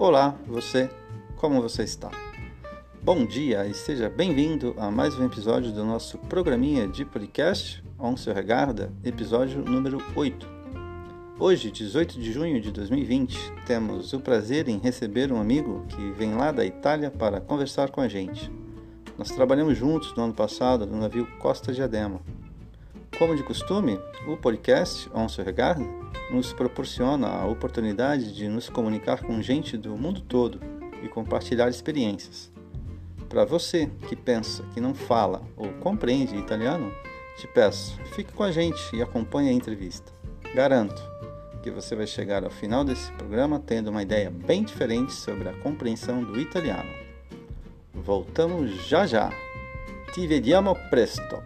Olá, como você está? Bom dia e seja bem-vindo a mais um episódio do nosso programinha de podcast, On se regarda, episódio número 8. Hoje, 18 de junho de 2020, temos o prazer em receber um amigo que vem lá da Itália para conversar com a gente. Nós trabalhamos juntos no ano passado no navio Costa Diadema. Como de costume, o podcast On se regarda nos proporciona a oportunidade de nos comunicar com gente do mundo todo e compartilhar experiências. Para você que pensa que não fala ou compreende italiano, te peço, fique com a gente e acompanhe a entrevista. Garanto que você vai chegar ao final desse programa tendo uma ideia bem diferente sobre a compreensão do italiano. Voltamos já já. Ti vediamo presto.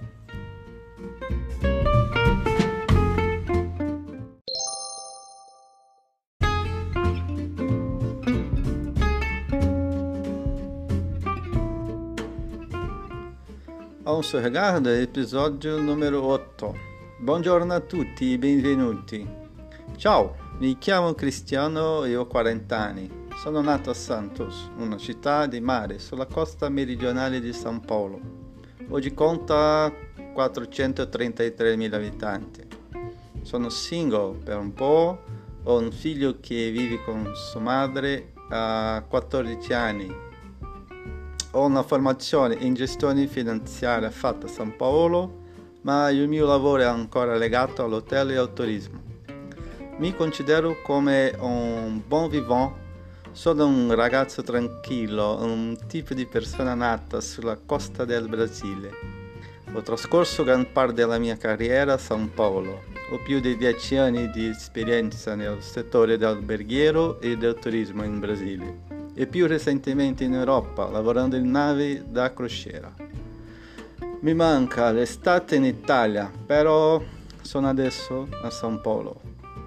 On se regarda, episodio numero 8. Buongiorno a tutti e benvenuti. Ciao, mi chiamo Cristiano e ho 40 anni. Sono nato a Santos, una città di mare sulla costa meridionale di San Paolo. Oggi conta 433.000 abitanti. Sono single per un po', ho un figlio che vive con sua madre a 14 anni. Ho una formazione in gestione finanziaria fatta a San Paolo, ma il mio lavoro è ancora legato all'hotel e al turismo. Mi considero come un bon vivant, sono un ragazzo tranquillo, un tipo di persona nata sulla costa del Brasile. Ho trascorso gran parte della mia carriera a San Paolo. Ho più di 10 anni di esperienza nel settore del alberghiero e del turismo in Brasile. E più recentemente in Europa, lavorando in navi da crociera. Mi manca l'estate in Italia, però sono adesso a San Paolo.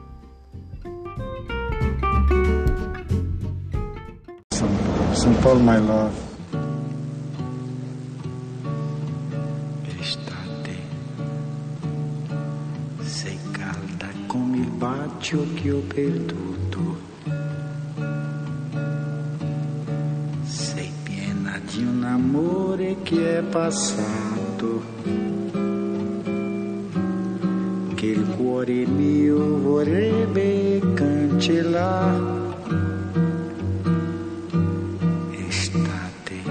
San Paolo, my love. Estate, sei calda come il bacio che ho perduto. Di un amore che è passato, che il cuore mio vorrebbe cancellare. Estate,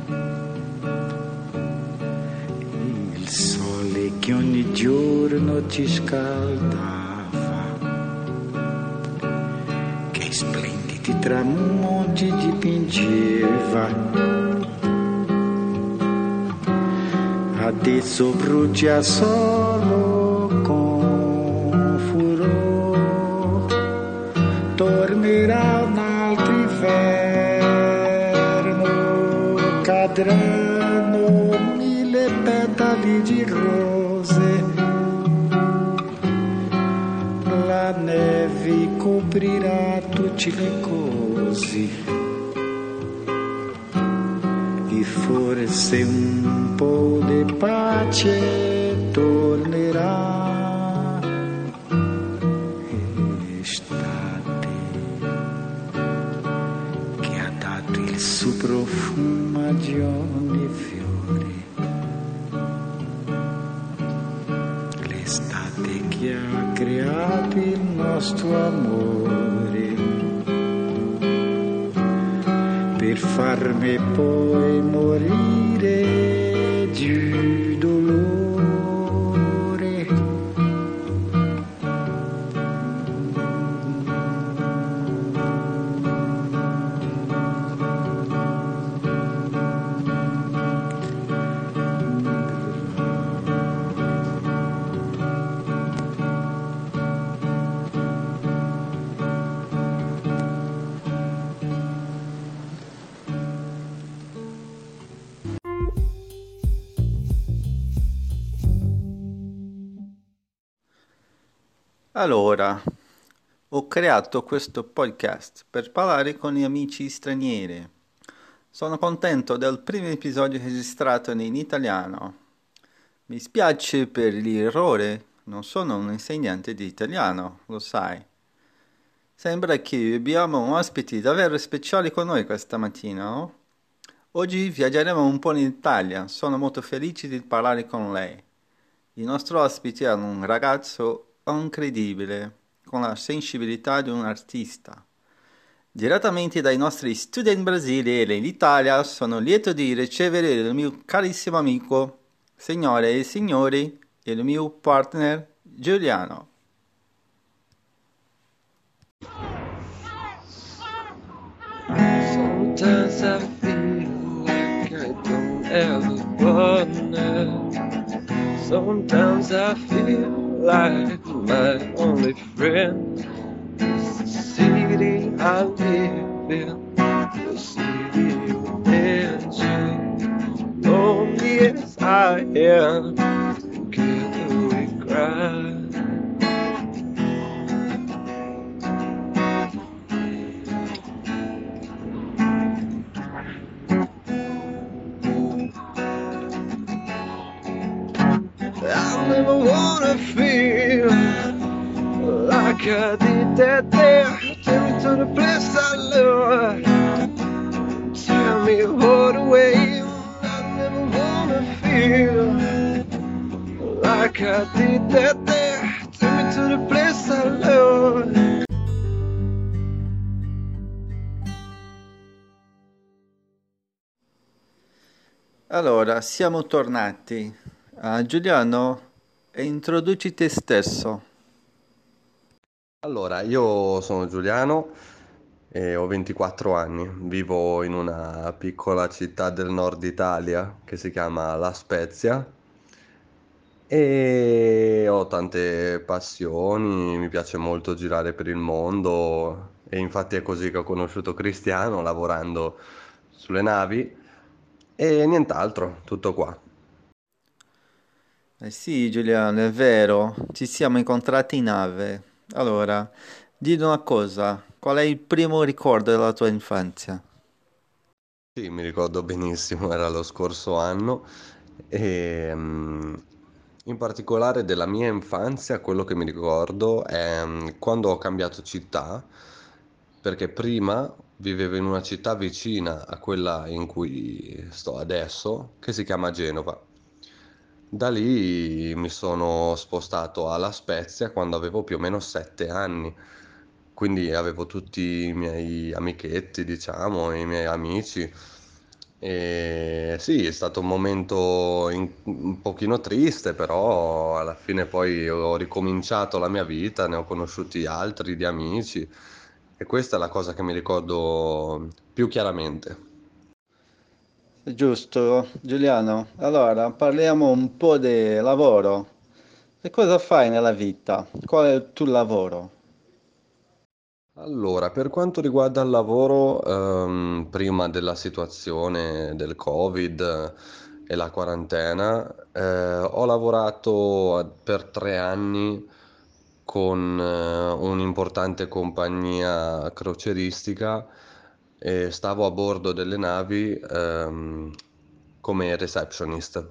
il sole che ogni giorno ti scaldava, che splendidi tramonti dipingeva. Adesso brucia solo con furore, tornerà un altro inverno, cadranno 1000 petali di rose, la neve coprirà tutte le cose. E forse un po' di pace tornerà. Estate che ha dato il suo profumo a ogni fiore. L'estate che ha creato il nostro amore. Per farmi poi morire di dolore. Allora, ho creato questo podcast per parlare con gli amici stranieri. Sono contento del primo episodio registrato in italiano. Mi spiace per l'errore, non sono un insegnante di italiano, lo sai. Sembra che abbiamo ospiti davvero speciali con noi questa mattina, no? Oggi viaggeremo un po' in Italia, sono molto felice di parlare con lei. Il nostro ospite è un ragazzo incredibile, con la sensibilità di un artista. Direttamente dai nostri studi in Brasile e in Italia, sono lieto di ricevere il mio carissimo amico, signore e signori, il mio partner Giuliano. Sometimes I feel like I don't ever wonder. Sometimes I feel like my only friend is the city I live in, the city you mentioned. Lonely as I am, together we cry. I never wanna feel like I did that there. Take me to the place I love. Tell me what away. I never wanna feel like I did that there. Take me to the place I love. Allora, siamo tornati. Giuliano, introduci te stesso. Allora, io sono Giuliano e ho 24 anni, vivo in una piccola città del nord Italia che si chiama La Spezia e ho tante passioni, mi piace molto girare per il mondo e infatti è così che ho conosciuto Cristiano lavorando sulle navi e nient'altro, tutto qua. Eh sì, Giuliano, è vero, ci siamo incontrati in nave. Allora, dimmi una cosa, qual è il primo ricordo della tua infanzia? Sì, mi ricordo benissimo, era lo scorso anno e in particolare della mia infanzia quello che mi ricordo è quando ho cambiato città, perché prima vivevo in una città vicina a quella in cui sto adesso, che si chiama Genova. Da lì mi sono spostato alla Spezia quando avevo più o meno 7 anni, quindi avevo tutti i miei amichetti, diciamo, e i miei amici. E sì, è stato un momento un pochino triste, però alla fine poi ho ricominciato la mia vita, ne ho conosciuti altri di amici e questa è la cosa che mi ricordo più chiaramente. Giusto, Giuliano. Allora, parliamo un po' di lavoro. Che cosa fai nella vita? Qual è il tuo lavoro? Allora, per quanto riguarda il lavoro, prima della situazione del Covid e la quarantena, ho lavorato per 3 anni con un'importante compagnia crocieristica e stavo a bordo delle navi, come receptionist.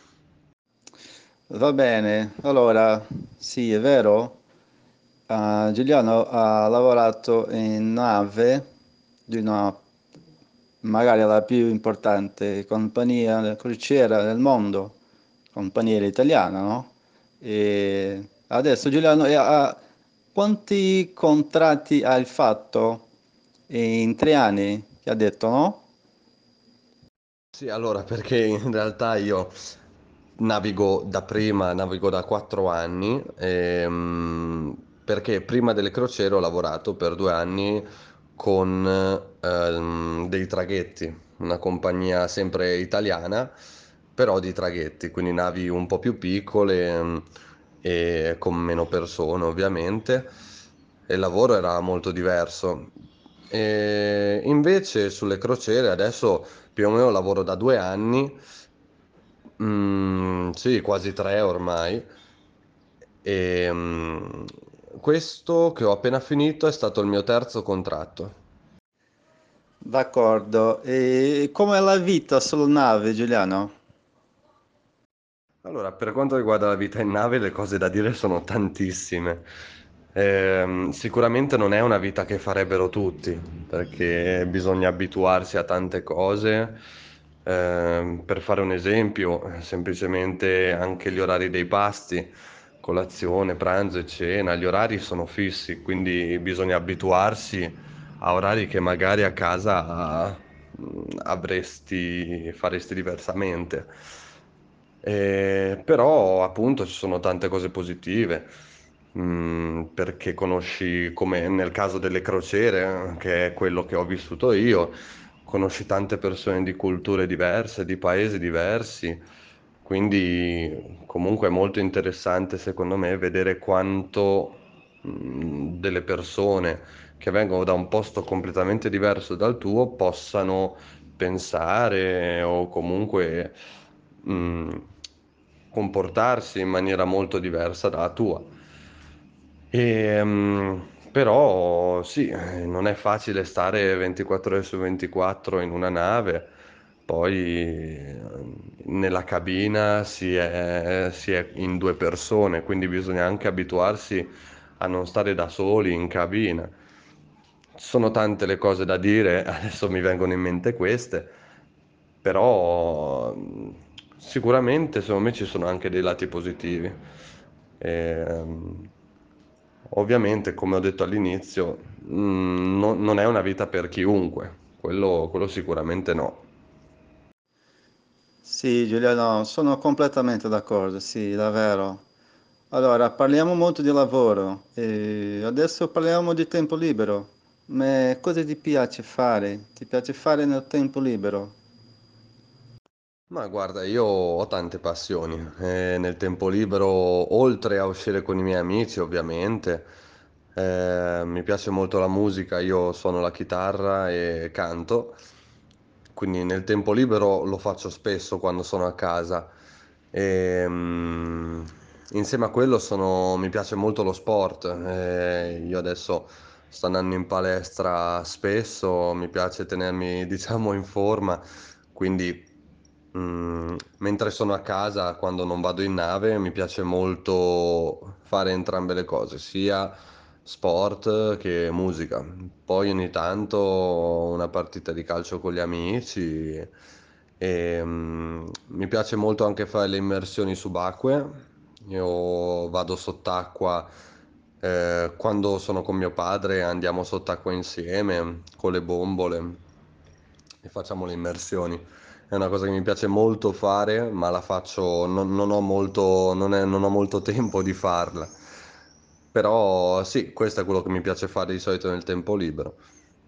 Va bene, allora, sì, è vero. Giuliano ha lavorato in nave di una, magari la più importante compagnia di crociera del mondo, compagnia italiana, no? E adesso Giuliano, quanti contratti hai fatto in 3 anni? Che ha detto, no? Sì, allora, perché in realtà io navigo da prima, navigo da 4 anni, perché prima delle crociere ho lavorato per 2 anni con dei traghetti, una compagnia sempre italiana, però di traghetti, quindi navi un po' più piccole, e con meno persone ovviamente, e il lavoro era molto diverso. E invece sulle crociere adesso più o meno lavoro da 2 anni, sì, quasi 3 ormai. E questo che ho appena finito è stato il mio terzo contratto. D'accordo. E com'è la vita sulla nave, Giuliano? Allora, per quanto riguarda la vita in nave, le cose da dire sono tantissime. Sicuramente non è una vita che farebbero tutti, perché bisogna abituarsi a tante cose. Per fare un esempio, semplicemente anche gli orari dei pasti, colazione, pranzo e cena, gli orari sono fissi, quindi bisogna abituarsi a orari che magari a casa faresti diversamente. Però appunto ci sono tante cose positive, perché conosci, come nel caso delle crociere, che è quello che ho vissuto io, conosci tante persone di culture diverse, di paesi diversi, quindi comunque è molto interessante secondo me vedere quanto delle persone che vengono da un posto completamente diverso dal tuo possano pensare o comunque mh, comportarsi in maniera molto diversa dalla tua. Però sì, non è facile stare 24 ore su 24 in una nave, poi nella cabina si è in due persone, quindi bisogna anche abituarsi a non stare da soli in cabina. Sono tante le cose da dire, adesso mi vengono in mente queste, però sicuramente secondo me ci sono anche dei lati positivi. Ehm, Ovviamente, come ho detto all'inizio, non è una vita per chiunque, quello sicuramente no. Sì, Giuliano, sono completamente d'accordo, sì, davvero. Allora, parliamo molto di lavoro e adesso parliamo di tempo libero. Ma cosa ti piace fare? Ti piace fare nel tempo libero? Ma guarda, io ho tante passioni. Nel tempo libero, oltre a uscire con i miei amici, ovviamente, mi piace molto la musica, io suono la chitarra e canto, quindi nel tempo libero lo faccio spesso quando sono a casa. E, insieme a quello mi piace molto lo sport. Io adesso sto andando in palestra spesso, mi piace tenermi, diciamo, in forma, quindi mentre sono a casa, quando non vado in nave, mi piace molto fare entrambe le cose, sia sport che musica. Poi ogni tanto una partita di calcio con gli amici e mi piace molto anche fare le immersioni subacquee. Io vado sott'acqua quando sono con mio padre, andiamo sott'acqua insieme con le bombole e facciamo le immersioni. È una cosa che mi piace molto fare, ma la faccio, non ho molto, non ho molto tempo di farla. Però sì, questo è quello che mi piace fare di solito nel tempo libero.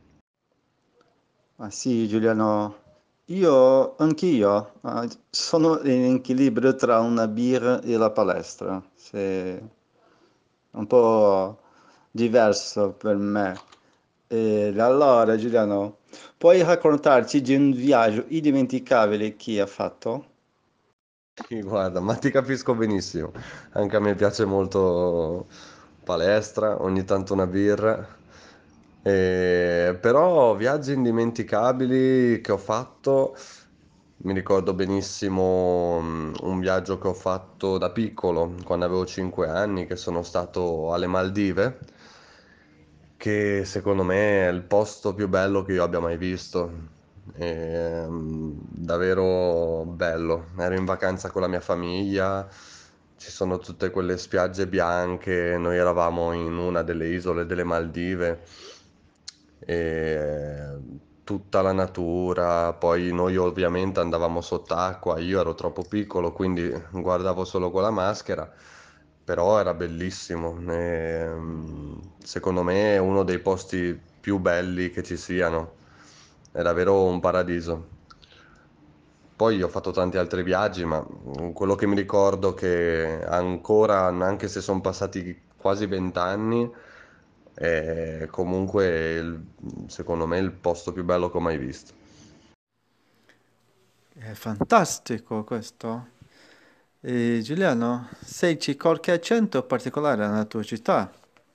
Ah sì, Giuliano, anch'io, sono in equilibrio tra una birra e la palestra. È un po' diverso per me. E allora, Giuliano, puoi raccontarci di un viaggio indimenticabile che hai fatto? Sì, guarda, ma ti capisco benissimo. Anche a me piace molto palestra, ogni tanto una birra. Però viaggi indimenticabili che ho fatto, mi ricordo benissimo un viaggio che ho fatto da piccolo, quando avevo 5 anni, che sono stato alle Maldive, che secondo me è il posto più bello che io abbia mai visto. Davvero bello. Ero in vacanza con la mia famiglia, ci sono tutte quelle spiagge bianche, noi eravamo in una delle isole delle Maldive e tutta la natura, poi noi ovviamente andavamo sott'acqua, io ero troppo piccolo, quindi guardavo solo con la maschera, però era bellissimo. Secondo me è uno dei posti più belli che ci siano, è davvero un paradiso. Poi ho fatto tanti altri viaggi, ma quello che mi ricordo che ancora, anche se sono passati quasi 20 anni, è comunque secondo me il posto più bello che ho mai visto. È fantastico questo. E Giuliano, sei c'è qualche accento particolare nella tua città?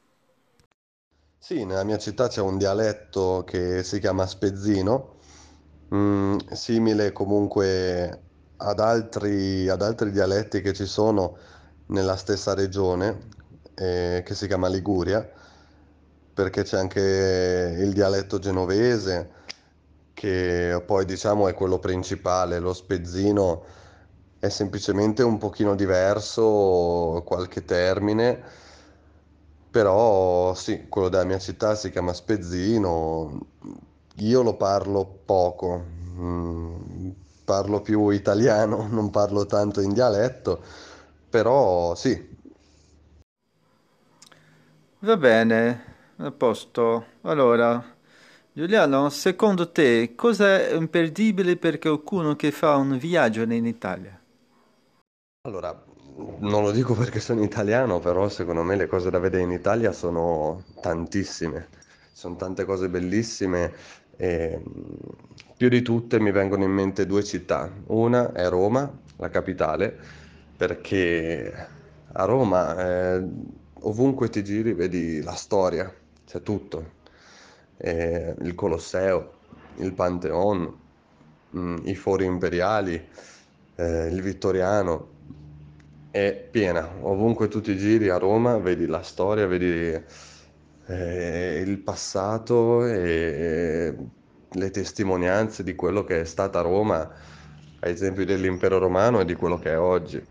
Sì, nella mia città c'è un dialetto che si chiama spezzino, simile comunque ad altri dialetti che ci sono nella stessa regione. che si chiama Liguria, perché c'è anche il dialetto genovese, che poi diciamo è quello principale, lo spezzino è semplicemente un pochino diverso, qualche termine, però sì, quello della mia città si chiama spezzino, io lo parlo poco, parlo più italiano, non parlo tanto in dialetto, però sì. Va bene, a posto. Allora, Giuliano, secondo te, cosa è imperdibile per qualcuno che fa un viaggio in Italia? Allora, non lo dico perché sono italiano, però secondo me le cose da vedere in Italia sono tantissime, sono tante cose bellissime e più di tutte mi vengono in mente due città. Una è Roma, la capitale, perché a Roma ovunque ti giri vedi la storia, c'è tutto. Il Colosseo, il Pantheon, i fori imperiali, il Vittoriano, è piena. Ovunque tu ti giri a Roma, vedi la storia, vedi il passato e le testimonianze di quello che è stata Roma ai tempi dell'Impero Romano e di quello che è oggi.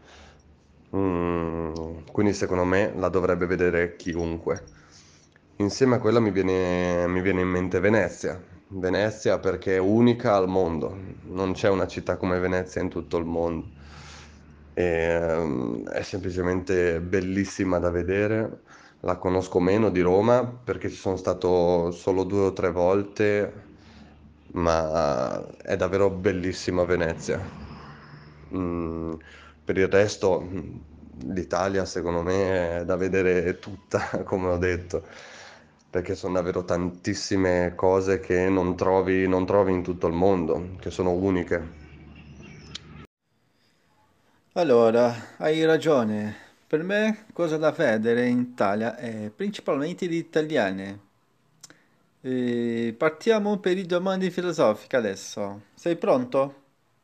Quindi secondo me la dovrebbe vedere chiunque. Insieme a quella mi viene in mente Venezia. Venezia perché è unica al mondo, non c'è una città come Venezia in tutto il mondo. È semplicemente bellissima da vedere. La conosco meno di Roma perché ci sono stato solo 2 o 3 volte, ma è davvero bellissima Venezia. Mm, per il resto, l'Italia secondo me è da vedere tutta, come ho detto, perché sono davvero tantissime cose che non trovi in tutto il mondo, che sono uniche. Allora, hai ragione. Per me, cosa da vedere in Italia è principalmente gli italiani. Partiamo per le domande filosofiche adesso. Sei pronto?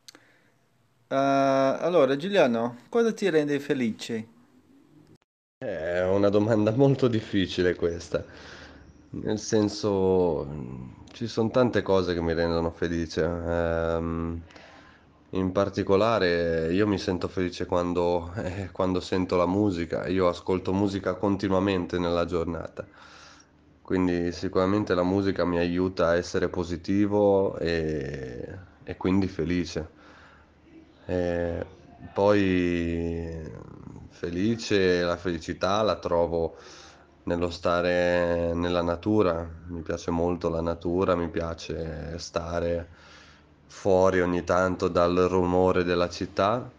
Allora, Giuliano, cosa ti rende felice? È una domanda molto difficile questa, nel senso ci sono tante cose che mi rendono felice. In particolare io mi sento felice quando sento la musica, io ascolto musica continuamente nella giornata, quindi sicuramente la musica mi aiuta a essere positivo e quindi felice. E poi felice, la felicità la trovo nello stare nella natura, mi piace molto la natura, mi piace stare fuori ogni tanto dal rumore della città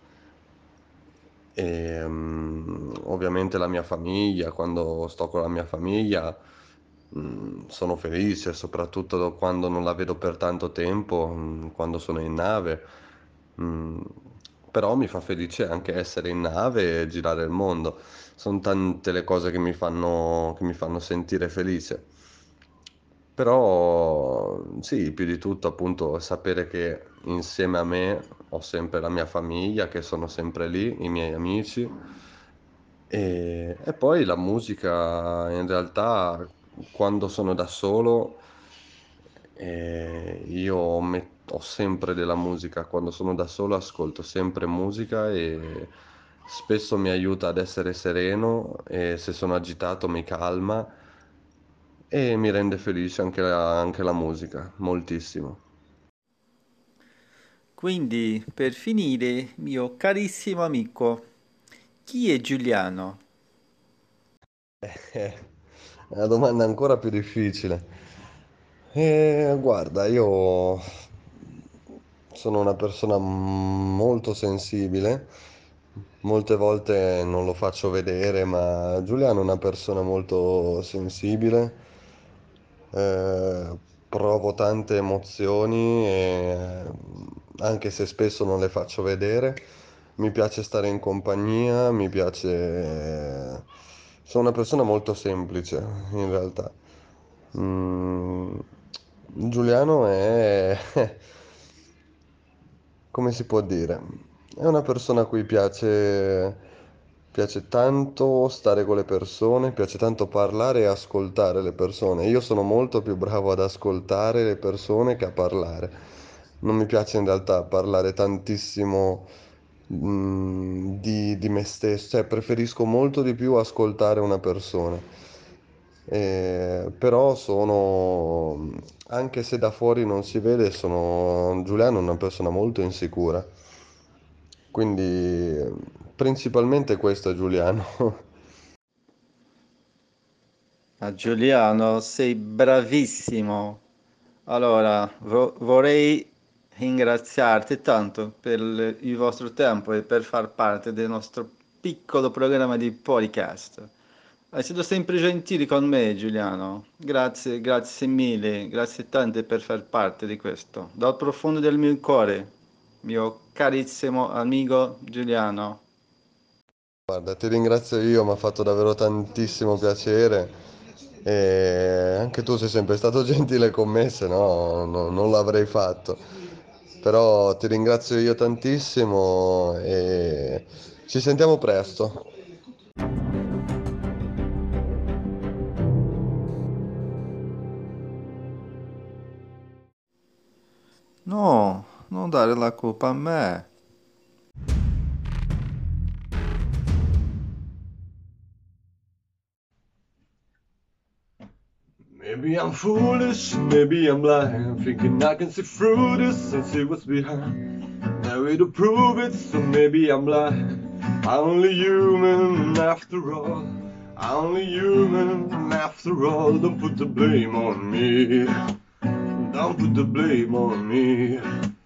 e ovviamente la mia famiglia, quando sto con la mia famiglia, sono felice, soprattutto quando non la vedo per tanto tempo, quando sono in nave. Mm, Però mi fa felice anche essere in nave e girare il mondo. Sono tante le cose che mi fanno sentire felice. Però sì, più di tutto appunto sapere che insieme a me ho sempre la mia famiglia, che sono sempre lì, i miei amici. E poi la musica in realtà quando sono da solo ho sempre della musica, quando sono da solo ascolto sempre musica e spesso mi aiuta ad essere sereno e se sono agitato mi calma e mi rende felice anche la musica, moltissimo. Quindi, per finire, mio carissimo amico, chi è Giuliano? È una domanda ancora più difficile. Guarda, io sono una persona molto sensibile, molte volte non lo faccio vedere, ma Giuliano è una persona molto sensibile, eh, provo tante emozioni, anche se spesso non le faccio vedere. Mi piace stare in compagnia, mi piace. Sono una persona molto semplice, in realtà. Mm, Giuliano è, come si può dire? È una persona a cui piace. Piace tanto stare con le persone, piace tanto parlare e ascoltare le persone. Io sono molto più bravo ad ascoltare le persone che a parlare. Non mi piace in realtà parlare tantissimo, di me stesso, cioè preferisco molto di più ascoltare una persona. Però sono, anche se da fuori non si vede, Giuliano è una persona molto insicura. Quindi principalmente questo è Giuliano. Ah, Giuliano, sei bravissimo. Allora, vorrei ringraziarti tanto per il vostro tempo e per far parte del nostro piccolo programma di podcast. Hai sido sempre gentile con me, Giuliano. Grazie, grazie mille, grazie tante per far parte di questo. Dal profondo del mio cuore, mio carissimo amico Giuliano. Guarda, ti ringrazio io, mi ha fatto davvero tantissimo piacere e anche tu sei sempre stato gentile con me, se no non l'avrei fatto. Però ti ringrazio io tantissimo e ci sentiamo presto. No, non dare la colpa a me. Maybe I'm foolish, maybe I'm blind, thinking I can see through this and see what's behind. No way to prove it, so maybe I'm blind. I'm only human after all. I'm only human after all. Don't put the blame on me. Don't put the blame on me.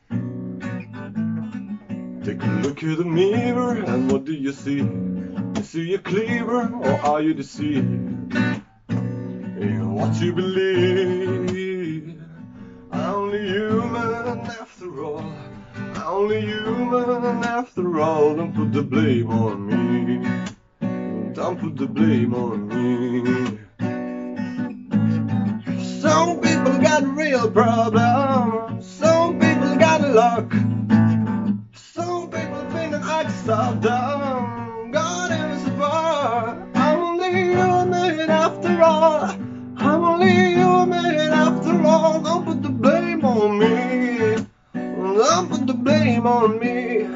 Take a look at the mirror and what do you see? You see a cleaver or are you deceived? In what you believe. I'm only human after all. I'm only human after all. Don't put the blame on me. Don't put the blame on me. Some people got real problems. Some people got luck. Some people think that I stop down. God is above. I'm only human after all. I'm only human after all. Don't put the blame on me. Don't put the blame on me.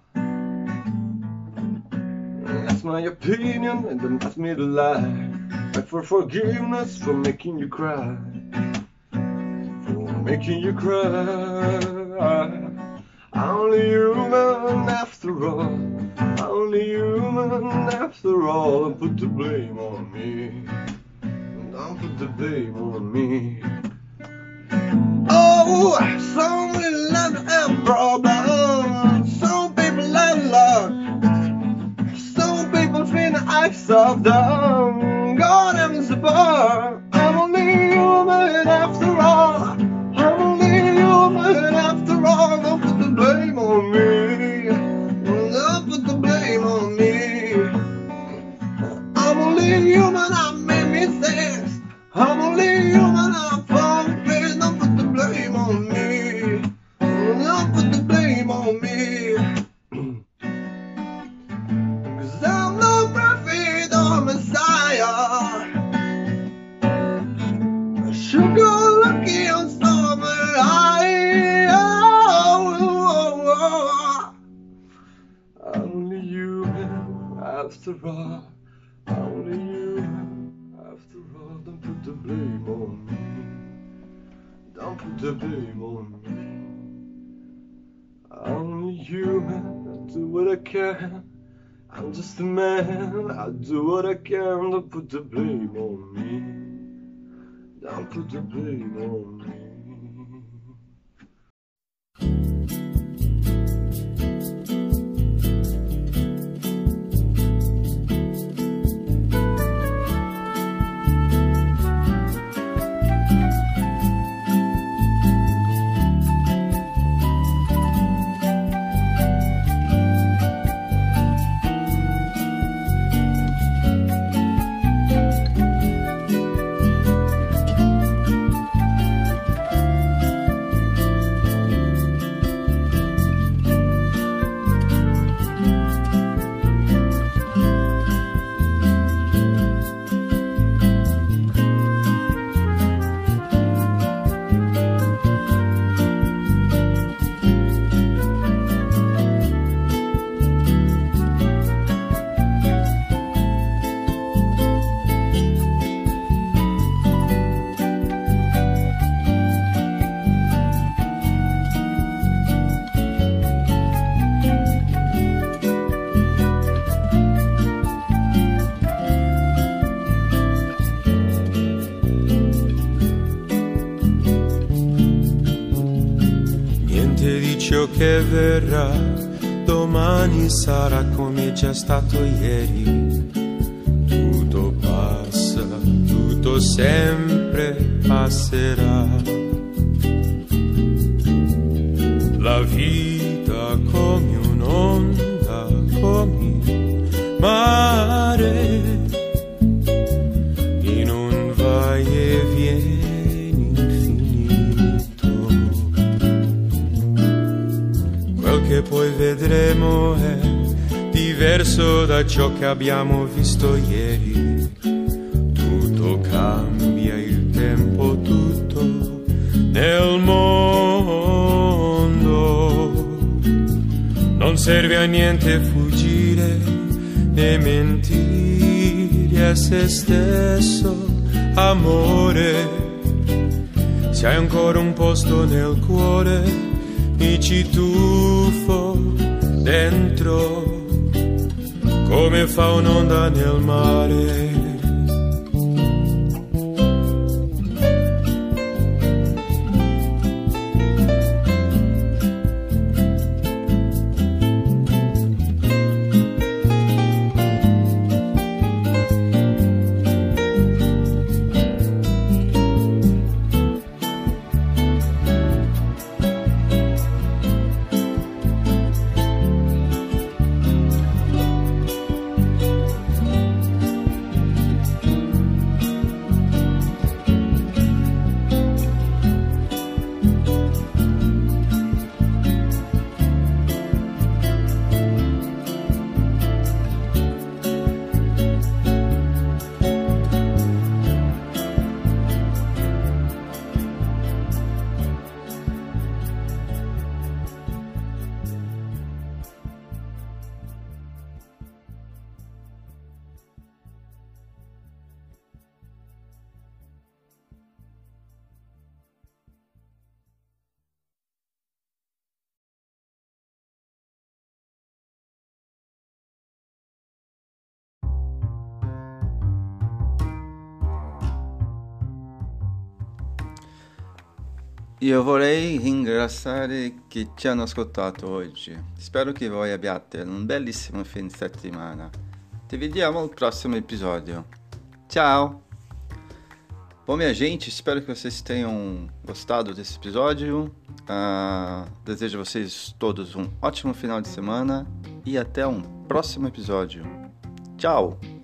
That's my opinion, and don't ask me to lie. Beg for forgiveness for making you cry. For making you cry. I'm only human after all. I'm only human after all. Don't put the blame on me. Don't put the blame on me. Oh, some will have problems. Some people have luck. Some people think I stop down. God heavens above. I'm only human after all. I'm only human after all. Don't put the blame on me. Don't put the blame on me. I'm only human. I made mistakes. I'm only human. I'm falling. Please don't put the blame on me. Don't put the blame on me. 'Cause I'm no prophet or Messiah. Sugar lucky on summer high. I'm only human after all. I'm only human after all. Don't put the blame on me. Don't put the blame on me. I'm only human. I do what I can. I'm just a man. I do what I can. Don't put the blame on me. Don't put the blame on me. che verrà domani sarà come già stato ieri. Tutto passa, tutto sempre passerà. La vita come un'onda, come il mare, in un vai e vieni infinito. Quel che poi vedremo è diverso da ciò che abbiamo visto ieri. Tutto cambia, il tempo tutto nel mondo. Non serve a niente fuggire né mentire a se stesso, amore. Se hai ancora un posto nel cuore, mi ci tuffo dentro come fa un'onda nel mare. Io vorrei ringraziare chi ci hanno ascoltato oggi. Spero che voi abbiate un bellissimo fine settimana. Ti vediamo al prossimo episódio. Tchau! Bom, minha gente, espero que vocês tenham gostado desse episódio. Desejo a vocês todos um ótimo final de semana e até um próximo episódio. Tchau!